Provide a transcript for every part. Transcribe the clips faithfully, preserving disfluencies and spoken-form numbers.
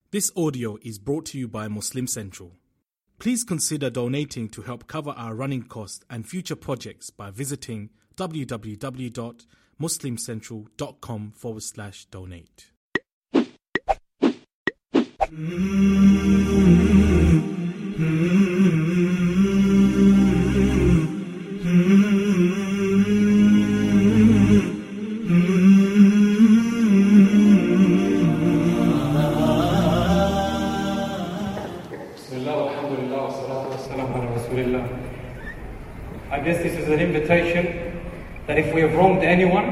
This audio is brought to you by Muslim Central. Please consider donating to help cover our running costs and future projects by visiting www.muslimcentral.com forward slash donate. I guess this is an invitation that if we have wronged anyone,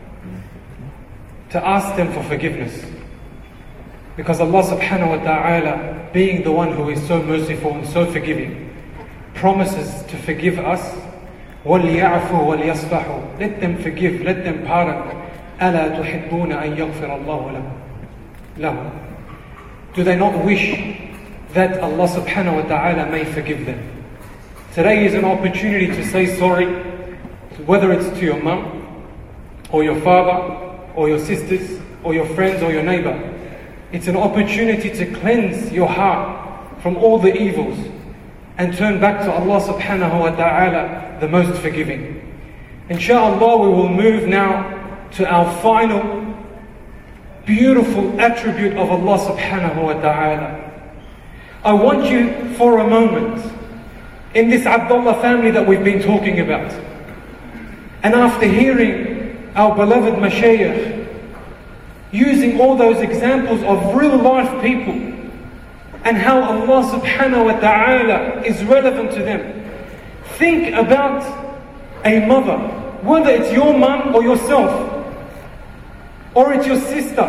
to ask them for forgiveness. Because Allah subhanahu wa ta'ala, being the one who is so merciful and so forgiving, promises to forgive us. وَلْيَعْفُوا وَلْيَصْفَحُوا. Let them forgive, let them pardon. أَلَا تُحِبُّونَ أَن يَغْفِرَ اللَّهُ لَهُمْ. Do they not wish that Allah subhanahu wa ta'ala may forgive them? Today is an opportunity to say sorry, whether it's to your mum, or your father, or your sisters, or your friends, or your neighbor. It's an opportunity to cleanse your heart from all the evils and turn back to Allah subhanahu wa ta'ala, the most forgiving. Inshallah, we will move now to our final beautiful attribute of Allah subhanahu wa ta'ala. I want you for a moment, in this Abdullah family that we've been talking about, and after hearing our beloved mashayikh using all those examples of real life people and how Allah subhanahu wa ta'ala is relevant to them, think about a mother, whether it's your mum or yourself, or it's your sister.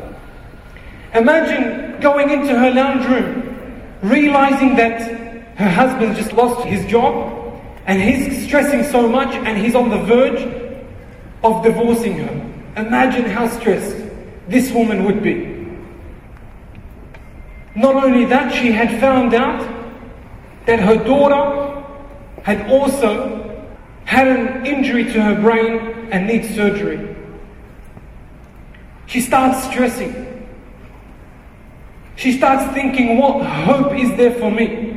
Imagine going into her lounge room, realizing that her husband just lost his job and he's stressing so much and he's on the verge of divorcing her. Imagine how stressed this woman would be. Not only that, she had found out that her daughter had also had an injury to her brain and needs surgery. She starts stressing. She starts thinking, what hope is there for me?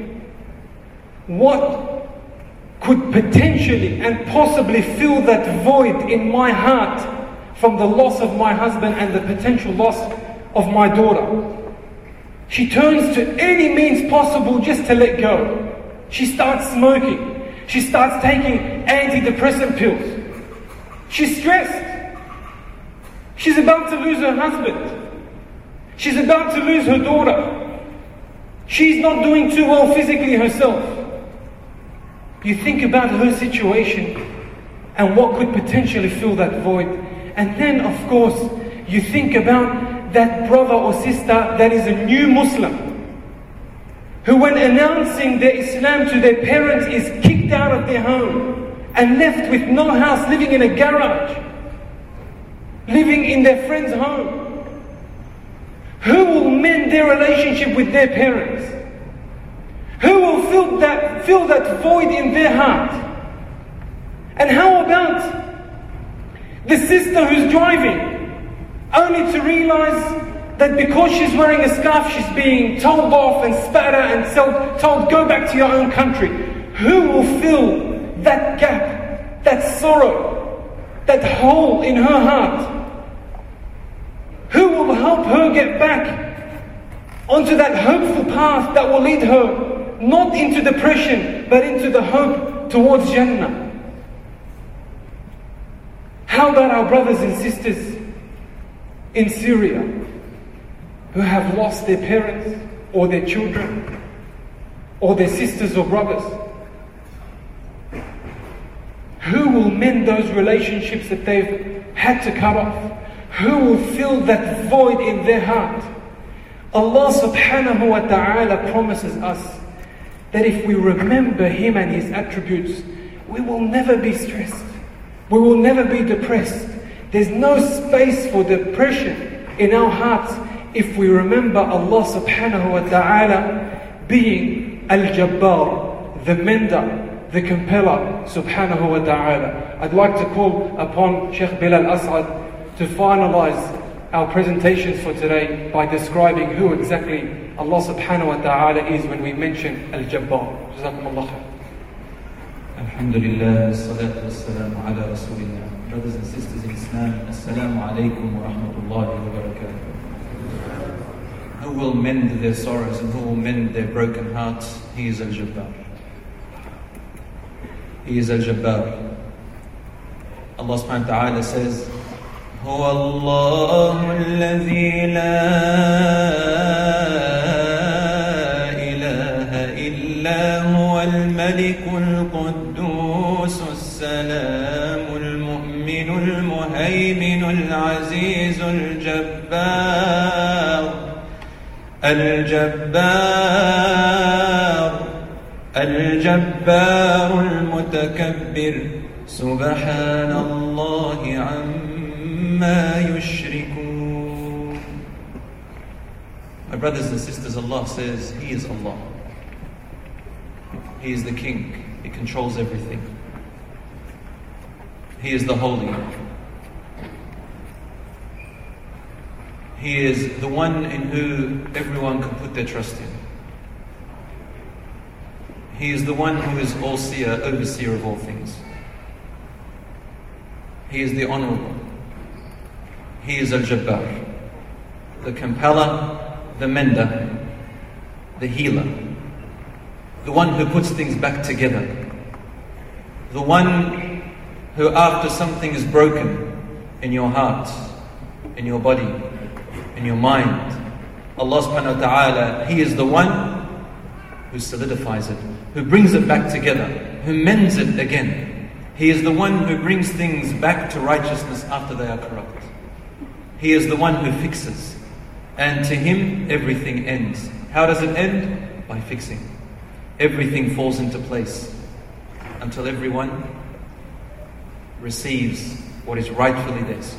What could potentially and possibly fill that void in my heart from the loss of my husband and the potential loss of my daughter? She turns to any means possible just to let go. She starts smoking. She starts taking antidepressant pills. She's stressed. She's about to lose her husband. She's about to lose her daughter. She's not doing too well physically herself. You think about her situation and what could potentially fill that void. And then, of course, you think about that brother or sister that is a new Muslim, who when announcing their Islam to their parents is kicked out of their home and left with no house, living in a garage, living in their friend's home. Who will mend their relationship with their parents? Who will fill that, fill that void in their heart? And how about the sister who's driving, only to realize that because she's wearing a scarf, she's being told off and spat at and told, go back to your own country? Who will fill that gap, that sorrow, that hole in her heart? Who will help her get back onto that hopeful path that will lead her not into depression, but into the hope towards Jannah? How about our brothers and sisters in Syria who have lost their parents or their children or their sisters or brothers? Who will mend those relationships that they've had to cut off? Who will fill that void in their heart? Allah subhanahu wa ta'ala promises us that if we remember Him and His attributes, we will never be stressed. We will never be depressed. There's no space for depression in our hearts if we remember Allah subhanahu wa ta'ala being Al-Jabbar, the mender, the compeller subhanahu wa ta'ala. I'd like to call upon Sheikh Bilal As'ad to finalize our presentations for today by describing who exactly Allah subhanahu wa ta'ala is when we mention Al-Jabbar. Jazakumullah khair. Alhamdulillah, salatu wassalamu ala rasulillah. Brothers and sisters in Islam, assalamu alaikum wa rahmatullahi wa barakatuh. Who will mend their sorrows and who will mend their broken hearts? He is Al-Jabbar. He is Al-Jabbar. Allah subhanahu wa ta'ala says, هو الله الذي لا إله إلا هو الملك القدوس السلام المؤمن المهيمن العزيز الجبار الجبار الجبار المتكبر سبحان الله عما يشركون. My brothers and sisters, Allah says He is Allah. He is the King. He controls everything. He is the Holy. He is the one in who everyone can put their trust in. He is the one who is all-seer, overseer of all things. He is the Honorable. He is Al-Jabbar, the compeller, the mender, the healer, the one who puts things back together, the one who after something is broken in your heart, in your body, in your mind, Allah subhanahu wa ta'ala, He is the one who solidifies it, who brings it back together, who mends it again. He is the one who brings things back to righteousness after they are corrupt. He is the one who fixes. And to Him, everything ends. How does it end? By fixing. Everything falls into place until everyone receives what is rightfully theirs.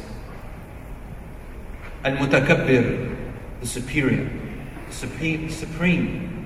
Al-Mutakabbir, the superior, the supreme.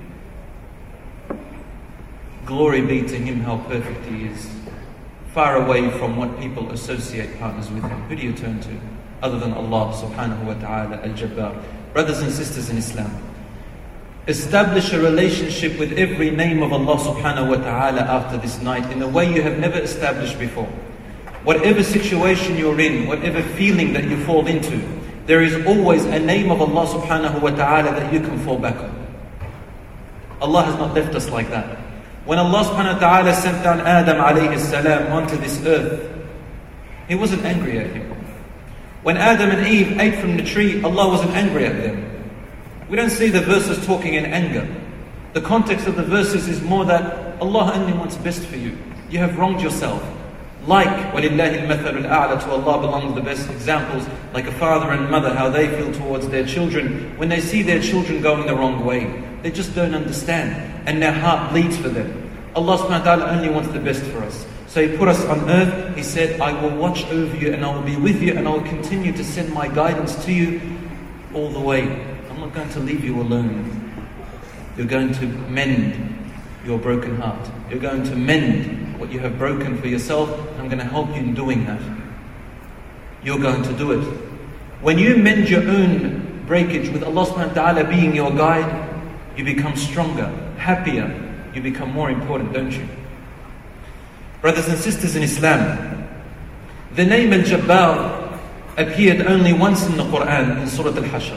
Glory be to Him, how perfect He is. Far away from what people associate partners with Him. Who do you turn to other than Allah subhanahu wa ta'ala Al-Jabbar? Brothers and sisters in Islam, establish a relationship with every name of Allah subhanahu wa ta'ala after this night in a way you have never established before. Whatever situation you're in, whatever feeling that you fall into, there is always a name of Allah subhanahu wa ta'ala that you can fall back on. Allah has not left us like that. When Allah subhanahu wa ta'ala sent down Adam alayhi salam onto this earth, He wasn't angry at him. When Adam and Eve ate from the tree, Allah wasn't angry at them. We don't see the verses talking in anger. The context of the verses is more that Allah only wants best for you. You have wronged yourself. Like, وَلِلَّهِ الْمَثَلُ الْأَعْلَى, to Allah belongs the best examples, like a father and mother, how they feel towards their children when they see their children going the wrong way. They just don't understand, and their heart bleeds for them. Allah subhanahu wa ta'ala only wants the best for us. So He put us on earth. He said, I will watch over you and I will be with you and I will continue to send my guidance to you all the way. I'm not going to leave you alone. You're going to mend your broken heart. You're going to mend what you have broken for yourself, and I'm going to help you in doing that. You're going to do it. When you mend your own breakage with Allah subhanahu wa ta'ala being your guide, you become stronger, happier, you become more important, don't you? Brothers and sisters in Islam, the name Al-Jabbar appeared only once in the Quran, in Surah Al-Hashr.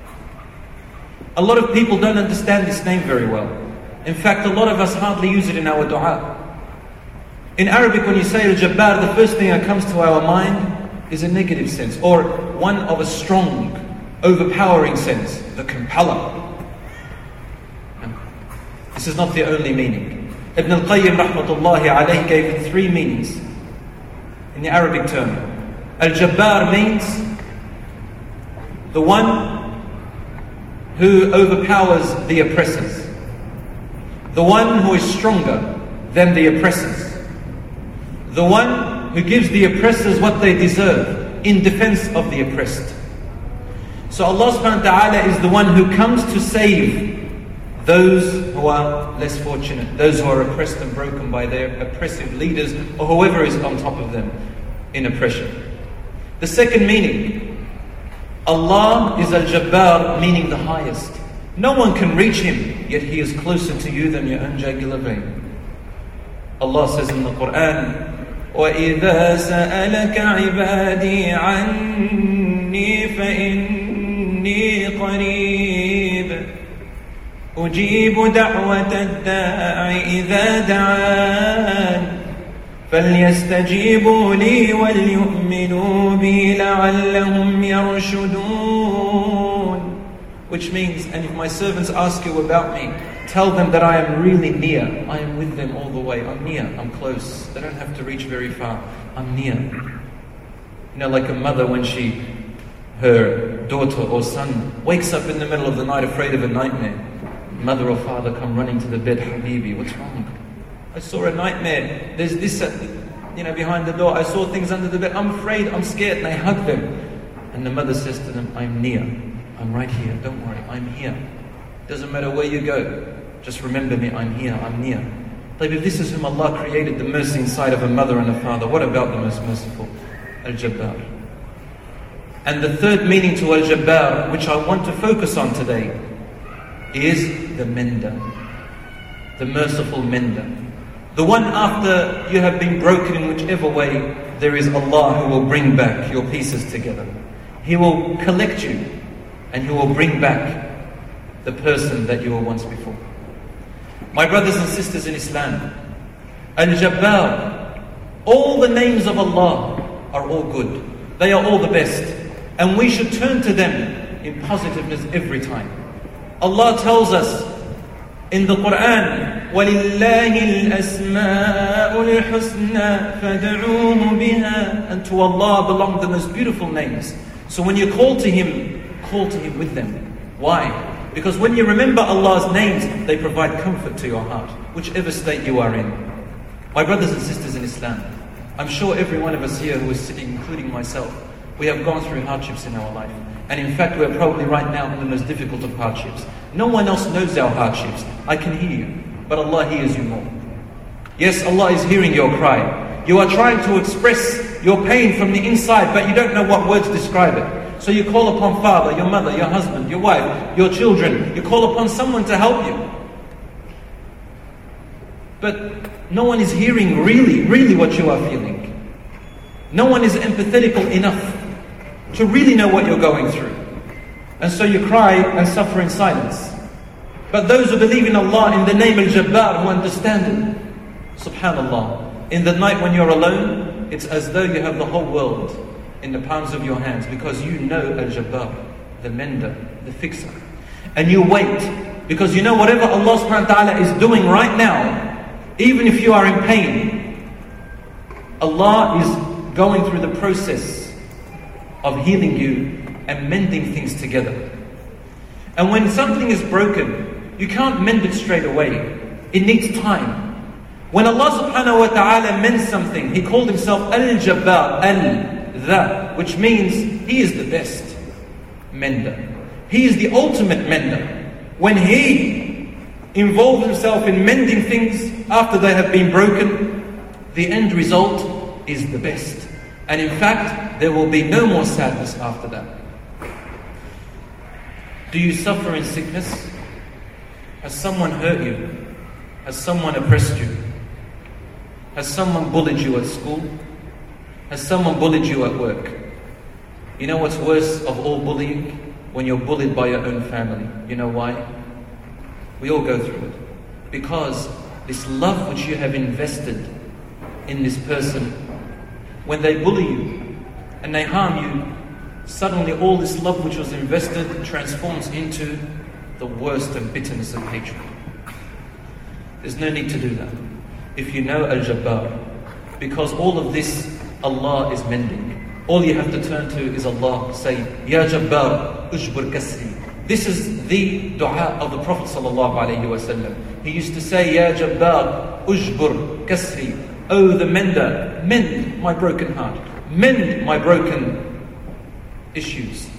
A lot of people don't understand this name very well. In fact, a lot of us hardly use it in our dua. In Arabic, when you say Al-Jabbar, the first thing that comes to our mind is a negative sense, or one of a strong, overpowering sense, the compeller. No. This is not the only meaning. Ibn al-Qayyim rahmatullahi alayhi gave it three meanings in the Arabic term. Al-Jabbar means the one who overpowers the oppressors, the one who is stronger than the oppressors, the one who gives the oppressors what they deserve in defense of the oppressed. So Allah subhanahu wa ta'ala is the one who comes to save those who are less fortunate, those who are oppressed and broken by their oppressive leaders or whoever is on top of them in oppression. The second meaning, Allah is Al-Jabbar, meaning the highest. No one can reach Him, yet He is closer to you than your own jugular vein. Allah says in the Quran, وَإِذَا سَأَلَكَ عِبَادِي عَنِّي فَإِنِّي قَرِيبٌ أُجِيبُ دَعْوَةَ الدَّاعِ إِذَا دَعَانِ فَلْيَسْتَجِيبُوا لِي وَلْيُؤْمِنُوا بِي لَعَلَّهُمْ يَرْشُدُونَ. Which means, and if my servants ask you about me, tell them that I am really near. I am with them all the way. I'm near. I'm close. They don't have to reach very far. I'm near. You know, like a mother when she, her daughter or son wakes up in the middle of the night afraid of a nightmare. Mother or father come running to the bed. Habibi, what's wrong? I saw a nightmare. There's this, at the, you know, behind the door. I saw things under the bed. I'm afraid. I'm scared. And they hug them. And the mother says to them, I'm near. I'm right here. Don't worry. I'm here. Doesn't matter where you go. Just remember me. I'm here. I'm near. But if this is whom Allah created, the mercy inside of a mother and a father, what about the most merciful? Al-Jabbar. And the third meaning to Al-Jabbar, which I want to focus on today, is the mender. The merciful mender. The one after you have been broken in whichever way, there is Allah who will bring back your pieces together. He will collect you and He will bring back the person that you were once before. My brothers and sisters in Islam, Al-Jabbar, all the names of Allah are all good. They are all the best. And we should turn to them in positiveness every time. Allah tells us in the Quran, وَلِلَّهِ الْأَسْمَاءُ الْحُسْنَى فَادْعُوهُ بِهَا. And to Allah belong the most beautiful names. So when you call to Him, call to Him with them. Why? Because when you remember Allah's names, they provide comfort to your heart, whichever state you are in. My brothers and sisters in Islam, I'm sure every one of us here who is sitting, including myself, we have gone through hardships in our life. And in fact, we're probably right now in the most difficult of hardships. No one else knows our hardships. I can hear you, but Allah hears you more. Yes, Allah is hearing your cry. You are trying to express your pain from the inside, but you don't know what words describe it. So you call upon father, your mother, your husband, your wife, your children. You call upon someone to help you. But no one is hearing really, really what you are feeling. No one is empathetical enough to really know what you're going through. And so you cry and suffer in silence. But those who believe in Allah in the name Al-Jabbar, who understand it, subhanallah, in the night when you're alone, it's as though you have the whole world in the palms of your hands, because you know Al-Jabbar, the mender, the fixer. And you wait, because you know whatever Allah subhanahu wa ta'ala is doing right now, even if you are in pain, Allah is going through the process of healing you and mending things together. And when something is broken, you can't mend it straight away. It needs time. When Allah subhanahu wa ta'ala mends something, He called Himself Al-Jabbar, Al-Dha, which means He is the best mender. He is the ultimate mender. When He involves Himself in mending things after they have been broken, the end result is the best. And in fact, there will be no more sadness after that. Do you suffer in sickness? Has someone hurt you? Has someone oppressed you? Has someone bullied you at school? Has someone bullied you at work? You know what's worse of all bullying? When you're bullied by your own family. You know why? We all go through it. Because this love which you have invested in this person, when they bully you and they harm you, suddenly all this love which was invested transforms into the worst of bitterness and hatred. There's no need to do that if you know Al-Jabbar, because all of this Allah is mending. All you have to turn to is Allah. Say, Ya Jabbar, Ujbur Kasri. This is the dua of the Prophet ﷺ. He used to say, Ya Jabbar, Ujbur Kasri. Oh, the mender, mend my broken heart. Mend my broken issues.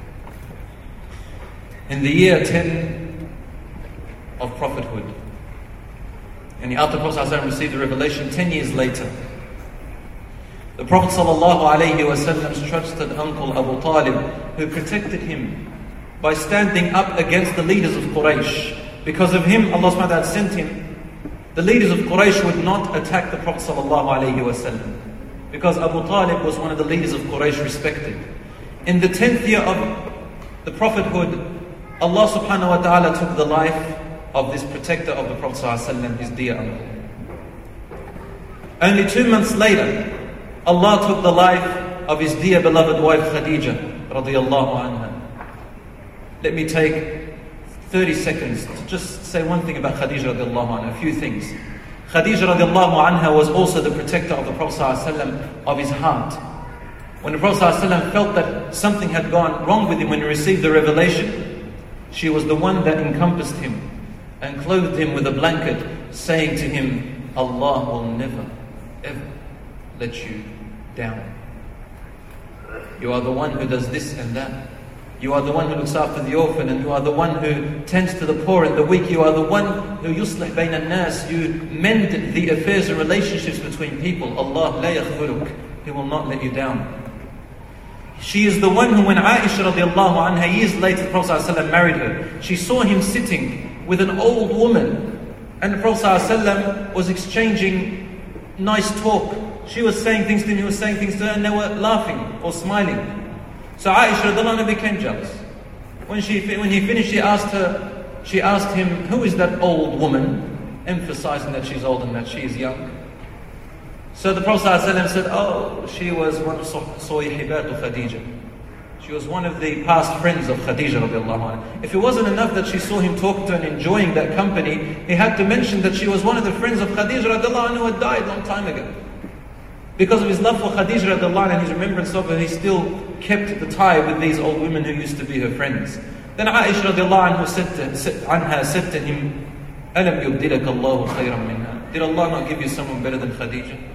In the year ten of prophethood, and after the Prophet ﷺ received the revelation, ten years later, The Prophet ﷺ's trusted uncle Abu Talib, who protected him by standing up against the leaders of Quraysh. Because of him, Allah subhanahu wa ta'ala sent him. The leaders of Quraysh would not attack the Prophet ﷺ, because Abu Talib was one of the leaders of Quraysh respected. In the tenth year of the prophethood, Allah subhanahu wa ta'ala took the life of this protector of the Prophet ﷺ, his dear uncle. Only two months later, Allah took the life of his dear beloved wife Khadija radiyallahu anha. Let me take thirty seconds to just say one thing about Khadija radiyallahu anha, a few things. Khadija radiyallahu anha was also the protector of the Prophet ﷺ of his heart. When the Prophet ﷺ felt that something had gone wrong with him when he received the revelation, she was the one that encompassed him and clothed him with a blanket, saying to him, Allah will never, ever let you down. You are the one who does this and that. You are the one who looks after the orphan, and you are the one who tends to the poor and the weak. You are the one who yuslih bayn al-nas. You mend the affairs and relationships between people. Allah la yakhzuluk. He will not let you down. She is the one who, when Aisha radiallahu anha, years later, the Prophet ﷺ married her, she saw him sitting with an old woman, and the Prophet ﷺ was exchanging nice talk. She was saying things to him, he was saying things to her, and they were laughing or smiling. So Aisha radiallahu anha became jealous. When she when he finished, she asked her, she asked him, who is that old woman? Emphasizing that she's old and that she is young. So the Prophet ﷺ said, oh, she was one of Sohibatu Khadija. She was one of the past friends of Khadija radiallahu anha. If it wasn't enough that she saw him talking to her and enjoying that company, he had to mention that she was one of the friends of Khadija radiallahu anha who had died a long time ago. Because of his love for Khadija radiallahu anha and his remembrance of her, he still kept the tie with these old women who used to be her friends. Then Aisha radiallahu anha said to, said, anha said to him, أَلَمْ يُبْدِلَكَ اللَّهُ خَيْرًا مِنْهَا. Did Allah not give you someone better than Khadija?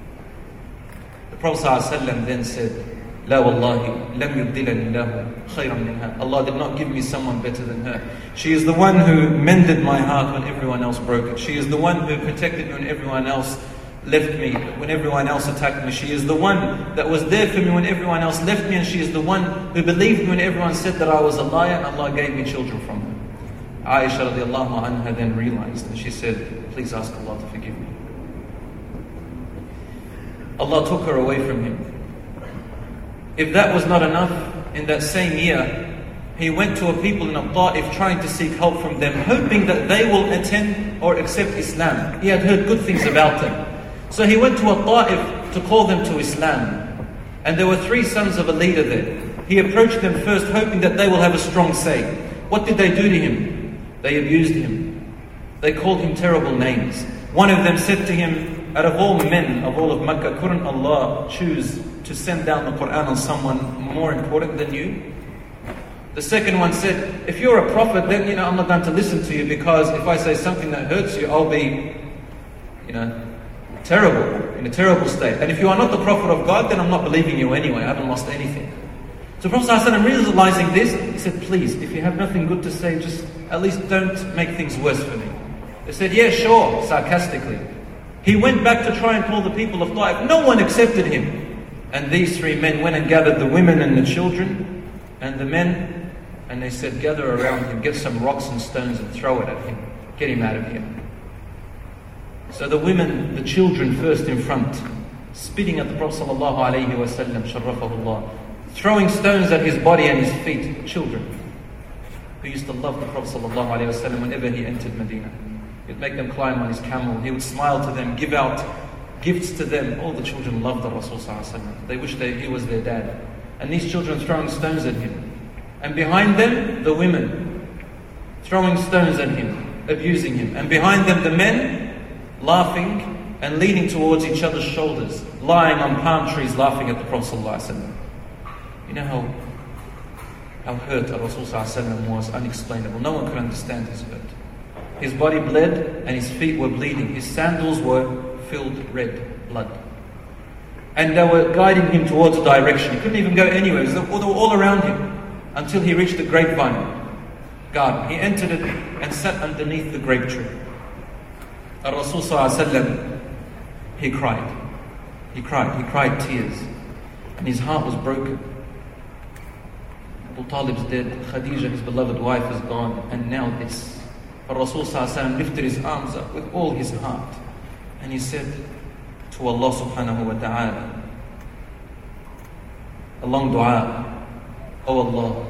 The Prophet ﷺ then said, لا والله لم يبدلني الله خيرا منها. Allah did not give me someone better than her. She is the one who mended my heart when everyone else broke it. She is the one who protected me when everyone else left me, when everyone else attacked me. She is the one that was there for me when everyone else left me, and she is the one who believed me when everyone said that I was a liar, and Allah gave me children from her. Aisha radiallahu anha then realized, and she said, please ask Allah to forgive me. Allah took her away from him. If that was not enough, in that same year, he went to a people in Ta'if trying to seek help from them, hoping that they will attend or accept Islam. He had heard good things about them. So he went to a Ta'if to call them to Islam. And there were three sons of a leader there. He approached them first, hoping that they will have a strong say. What did they do to him? They abused him. They called him terrible names. One of them said to him, out of all men of all of Makkah, couldn't Allah choose to send down the Quran on someone more important than you? The second one said, if you're a prophet, then you know I'm not going to listen to you, because if I say something that hurts you, I'll be, you know, terrible, in a terrible state. And if you are not the prophet of God, then I'm not believing you anyway. I haven't lost anything. So the Prophet ﷺ, realizing this, he said, please, if you have nothing good to say, just at least don't make things worse for me. They said, yeah, sure, sarcastically. He went back to try and call the people of Ta'if. No one accepted him. And these three men went and gathered the women and the children and the men, and they said, gather around him, get some rocks and stones and throw it at him. Get him out of here. So the women, the children first in front, spitting at the Prophet sallallahu alaihi wasallam, sharrafahullah, throwing stones at his body and his feet. Children who used to love the Prophet sallallahu alaihi wasallam whenever he entered Medina. He'd make them climb on his camel. He would smile to them, give out gifts to them. All the children loved the Rasul sallallahu alaihi wasallam. They wished they, he was their dad. And these children throwing stones at him. And behind them, the women throwing stones at him, abusing him. And behind them, the men laughing and leaning towards each other's shoulders, lying on palm trees, laughing at the Prophet sallallahu alaihi wasallam. You know how, how hurt the Rasul sallallahu alaihi wasallam was, unexplainable. No one could understand his hurt. His body bled and his feet were bleeding. His sandals were filled red blood. And they were guiding him towards a direction. He couldn't even go anywhere. They were all around him until he reached the grapevine garden. He entered it and sat underneath the grape tree. Rasul sallallahu alaihi wasallam, he cried. He cried, he cried tears. And his heart was broken. Abu Talib's dead, Khadija, his beloved wife, is gone, and now this. But Rasul lifted his arms up with all his heart, and he said to Allah subhanahu wa ta'ala, a long dua, "Oh Allah,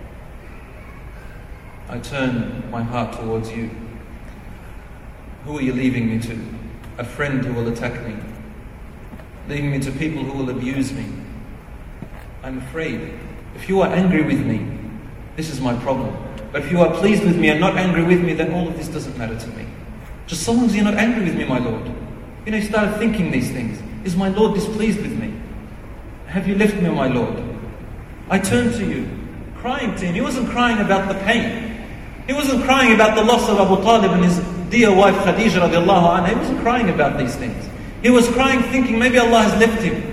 I turn my heart towards you. Who are you leaving me to? A friend who will attack me, leaving me to people who will abuse me. I'm afraid. If you are angry with me, this is my problem. But if you are pleased with me and not angry with me, then all of this doesn't matter to me. Just so long as you're not angry with me, my Lord." You know, he started thinking these things. Is my Lord displeased with me? Have you left me, my Lord? I turned to you, crying to him. He wasn't crying about the pain. He wasn't crying about the loss of Abu Talib and his dear wife Khadija radiallahu anha. He wasn't crying about these things. He was crying thinking maybe Allah has left him.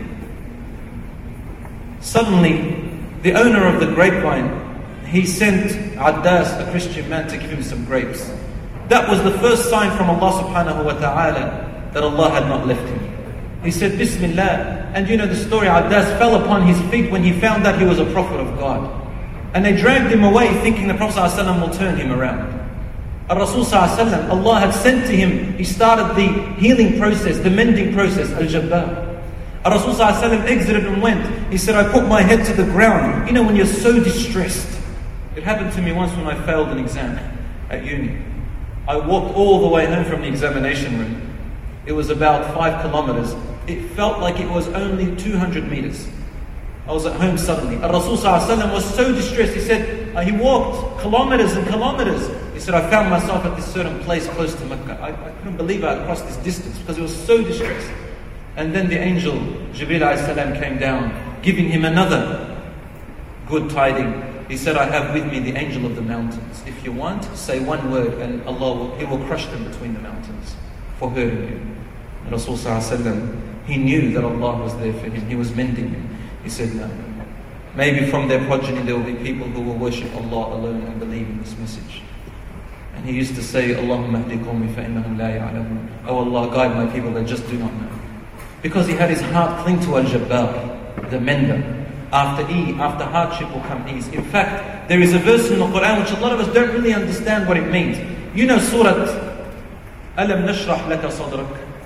Suddenly, the owner of the grapevine, he sent Addas, a Christian man, to give him some grapes. That was the first sign from Allah subhanahu wa ta'ala that Allah had not left him. He said, Bismillah. And you know the story, Addas fell upon his feet when he found that he was a prophet of God. And they dragged him away thinking the Prophet ﷺ will turn him around. Rasul ﷺ, Allah had sent to him, he started the healing process, the mending process, Al-Jabbar. Rasul ﷺ exited and went. He said, I put my head to the ground. You know when you're so distressed. It happened to me once when I failed an exam at uni. I walked all the way home from the examination room. It was about five kilometers. It felt like it was only two hundred meters. I was at home suddenly. Rasul ﷺ was so distressed. He said, uh, he walked kilometers and kilometers. He said, I found myself at this certain place close to Mecca. I, I couldn't believe I had crossed this distance because he was so distressed. And then the angel, Jibreel alayhi salam, came down, giving him another good tiding. He said, I have with me the angel of the mountains. If you want, say one word and Allah will, He will crush them between the mountains for hurting you. And Rasul ﷺ, he knew that Allah was there for him. He was mending him. He said, no. Maybe from their progeny there will be people who will worship Allah alone and believe in this message. And he used to say, Allahumma ahdi qawmi fa innahum la ya'lamun. Oh Allah, guide my people, they just do not know. Because he had his heart cling to Al-Jabbar, the mender. After ease, after hardship will come ease. In fact, there is a verse in the Quran which a lot of us don't really understand what it means. You know Surah Alam nashrah laka sadrak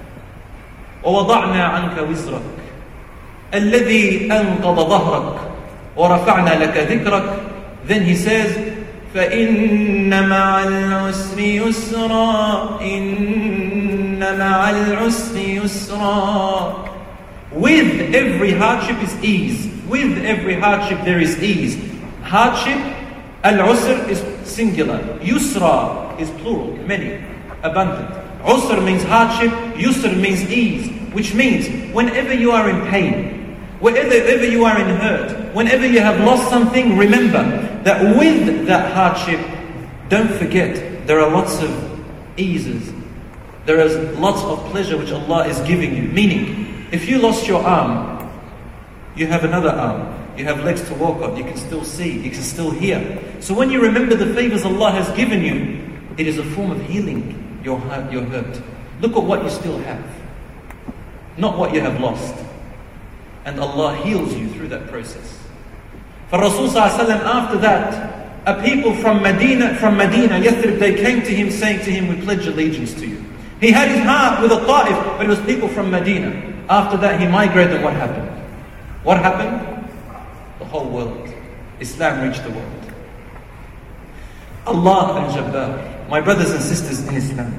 wa wada'na anka wizrak alladhi anqadha dhahrak wa rafa'na laka dhikrak. Then he says, فَإِنَّ مَعَ الْعُسْرِ يُسْرًا إِنَّ مَعَ الْعُسْرِ يُسْرًا. With every hardship is ease. With every hardship there is ease. Hardship, al-usr is singular. Yusra is plural, many, abundant. Usr means hardship, yusr means ease. Which means whenever you are in pain, whenever you are in hurt, whenever you have lost something, remember that with that hardship, don't forget, there are lots of eases. There is lots of pleasure which Allah is giving you. Meaning, if you lost your arm, you have another arm. You have legs to walk on. You can still see. You can still hear. So when you remember the favors Allah has given you, it is a form of healing your hurt. Your hurt. Look at what you still have, not what you have lost. And Allah heals you through that process. For Rasul ﷺ, after that, a people from Medina, from Medina, Yathrib, they came to him saying to him, we pledge allegiance to you. He had his heart with a Ta'if, but it was people from Medina. After that, he migrated. What happened? What happened? The whole world. Islam reached the world. Allah al-Jabbar. My brothers and sisters in Islam,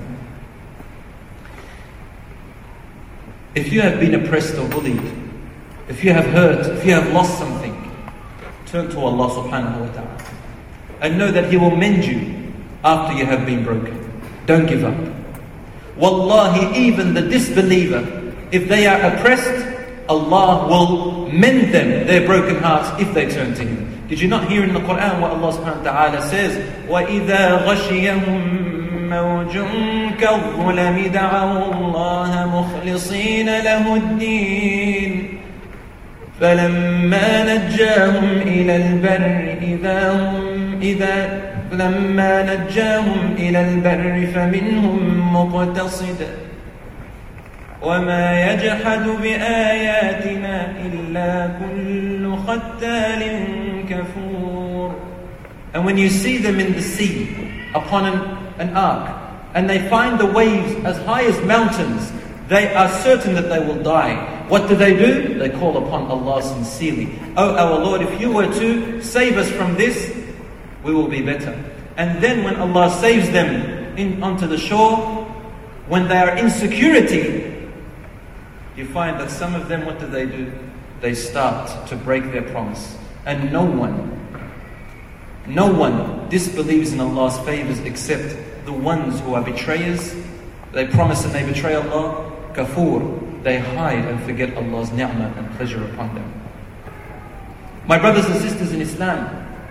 if you have been oppressed or bullied, if you have hurt, if you have lost something, turn to Allah subhanahu wa ta'ala. And know that He will mend you after you have been broken. Don't give up. Wallahi, even the disbeliever, if they are oppressed, Allah will mend them, their broken hearts, if they turn to Him. Did you not hear in the Quran what Allah subhanahu wa ta'ala says? وَإِذَا غَشِيَهُمْ مَوْجٌ كَالظُّلَمِ دَعَوُا اللَّهَ مُخْلِصِينَ لَهُ الدِّينَ فَلَمَّا نَجَّاهُمْ إِلَى الْبَرِّ إِذَا هُمْ إِذَا فَلَمَّا نَجَّاهُمْ إِلَى الْبَرِّ فَمِنْهُمْ مُقْتَصِدٌ وَمَا يَجْحَدُ بِآيَاتِنَا إِلَّا كُلُّ خَتَّالٍ كَفُورٍ. And when you see them in the sea, upon an, an ark, and they find the waves as high as mountains, they are certain that they will die. What do they do? They call upon Allah sincerely. Oh, our Lord, if you were to save us from this, we will be better. And then when Allah saves them in, onto the shore, when they are in security, you find that some of them, what do they do? They start to break their promise. And no one, no one disbelieves in Allah's favors except the ones who are betrayers. They promise and they betray Allah. Kafur, they hide and forget Allah's ni'mah and pleasure upon them. My brothers and sisters in Islam,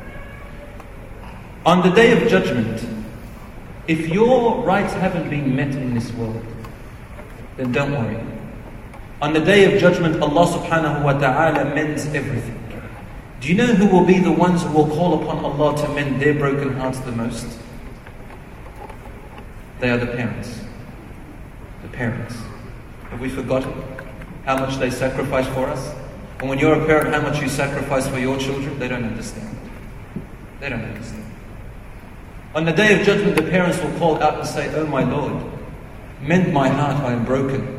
on the Day of Judgment, if your rights haven't been met in this world, then don't worry. On the Day of Judgment, Allah subhanahu wa ta'ala mends everything. Do you know who will be the ones who will call upon Allah to mend their broken hearts the most? They are the parents. The parents. Have we forgotten how much they sacrifice for us? And when you're a parent, how much you sacrifice for your children? They don't understand. They don't understand. On the Day of Judgment, the parents will call out and say, "Oh my Lord, mend my heart, I am broken."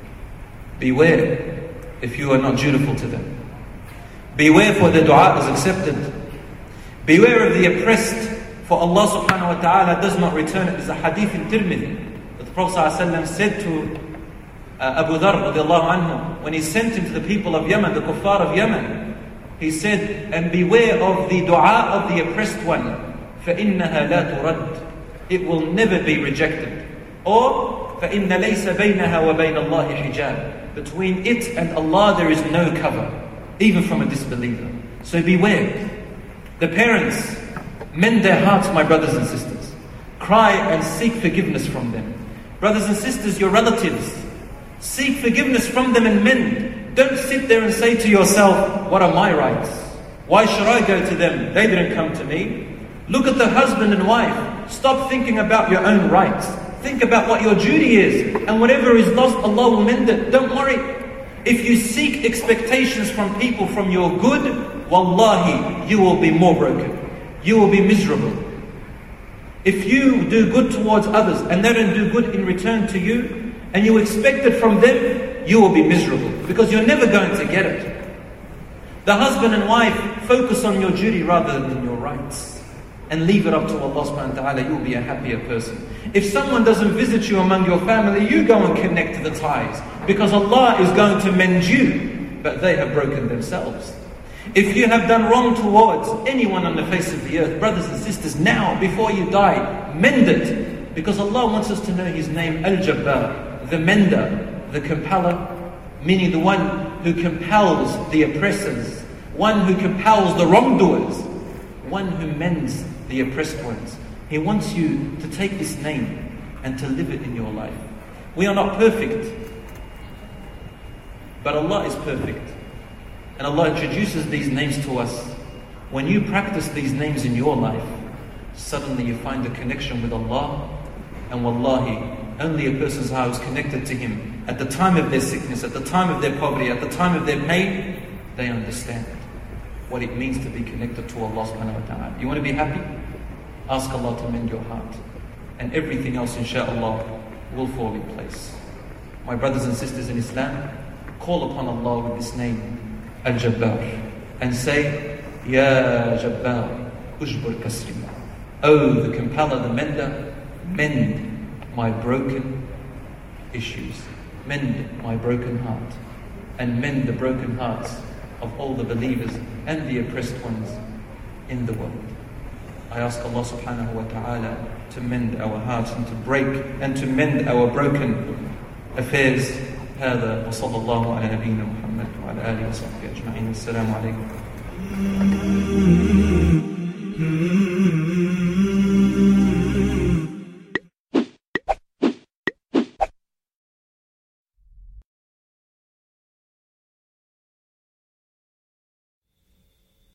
Beware if you are not dutiful to them. Beware, for the dua is accepted. Beware of the oppressed, for Allah subhanahu wa ta'ala does not return it. There's a hadith in Tirmidhi that the Prophet ﷺ said to uh, Abu Dharr radiallahu anhu, when he sent him to the people of Yemen, the kuffar of Yemen, he said, and beware of the dua of the oppressed one, فَإِنَّهَا لَا تُرَدْ. It will never be rejected. Or, فَإِنَّ لَيْسَ بَيْنَهَا وَبَيْنَ اللَّهِ حِجَابٍ. Between it and Allah there is no cover, even from a disbeliever. So beware. The parents, mend their hearts, my brothers and sisters. Cry and seek forgiveness from them. Brothers and sisters, your relatives, seek forgiveness from them and mend. Don't sit there and say to yourself, what are my rights? Why should I go to them? They didn't come to me. Look at the husband and wife. Stop thinking about your own rights. Think about what your duty is. And whatever is lost, Allah will mend it. Don't worry. If you seek expectations from people from your good, wallahi, you will be more broken. You will be miserable. If you do good towards others and they don't do good in return to you, and you expect it from them, you will be miserable, because you're never going to get it. The husband and wife, focus on your duty rather than your rights, and leave it up to Allah subhanahu wa ta'ala. You'll be a happier person. If someone doesn't visit you among your family, you go and connect the ties, because Allah is going to mend you, but they have broken themselves. If you have done wrong towards anyone on the face of the earth, brothers and sisters, now, before you die, mend it. Because Allah wants us to know His name, Al-Jabbar, the mender, the compeller, meaning the one who compels the oppressors, one who compels the wrongdoers, one who mends the oppressed ones. He wants you to take this name and to live it in your life. We are not perfect, but Allah is perfect. And Allah introduces these names to us. When you practice these names in your life, suddenly you find a connection with Allah. And wallahi, only a person's heart is connected to Him at the time of their sickness, at the time of their poverty, at the time of their pain, they understand what it means to be connected to Allah subhanahu wa ta'ala. You want to be happy? Ask Allah to mend your heart. And everything else, inshaAllah, will fall in place. My brothers and sisters in Islam, call upon Allah with this name, Al-Jabbar, and say, Ya Jabbar, Ujbur Kasri. Oh, the compeller, the mender, mend my broken issues. Mend my broken heart. And mend the broken hearts of all the believers and the oppressed ones in the world. I ask Allah subhanahu wa ta'ala to mend our hearts and to break and to mend our broken affairs. هذا وصلى الله على نبينا محمد وعلى آله وصحبه أجمعين. السلام عليكم.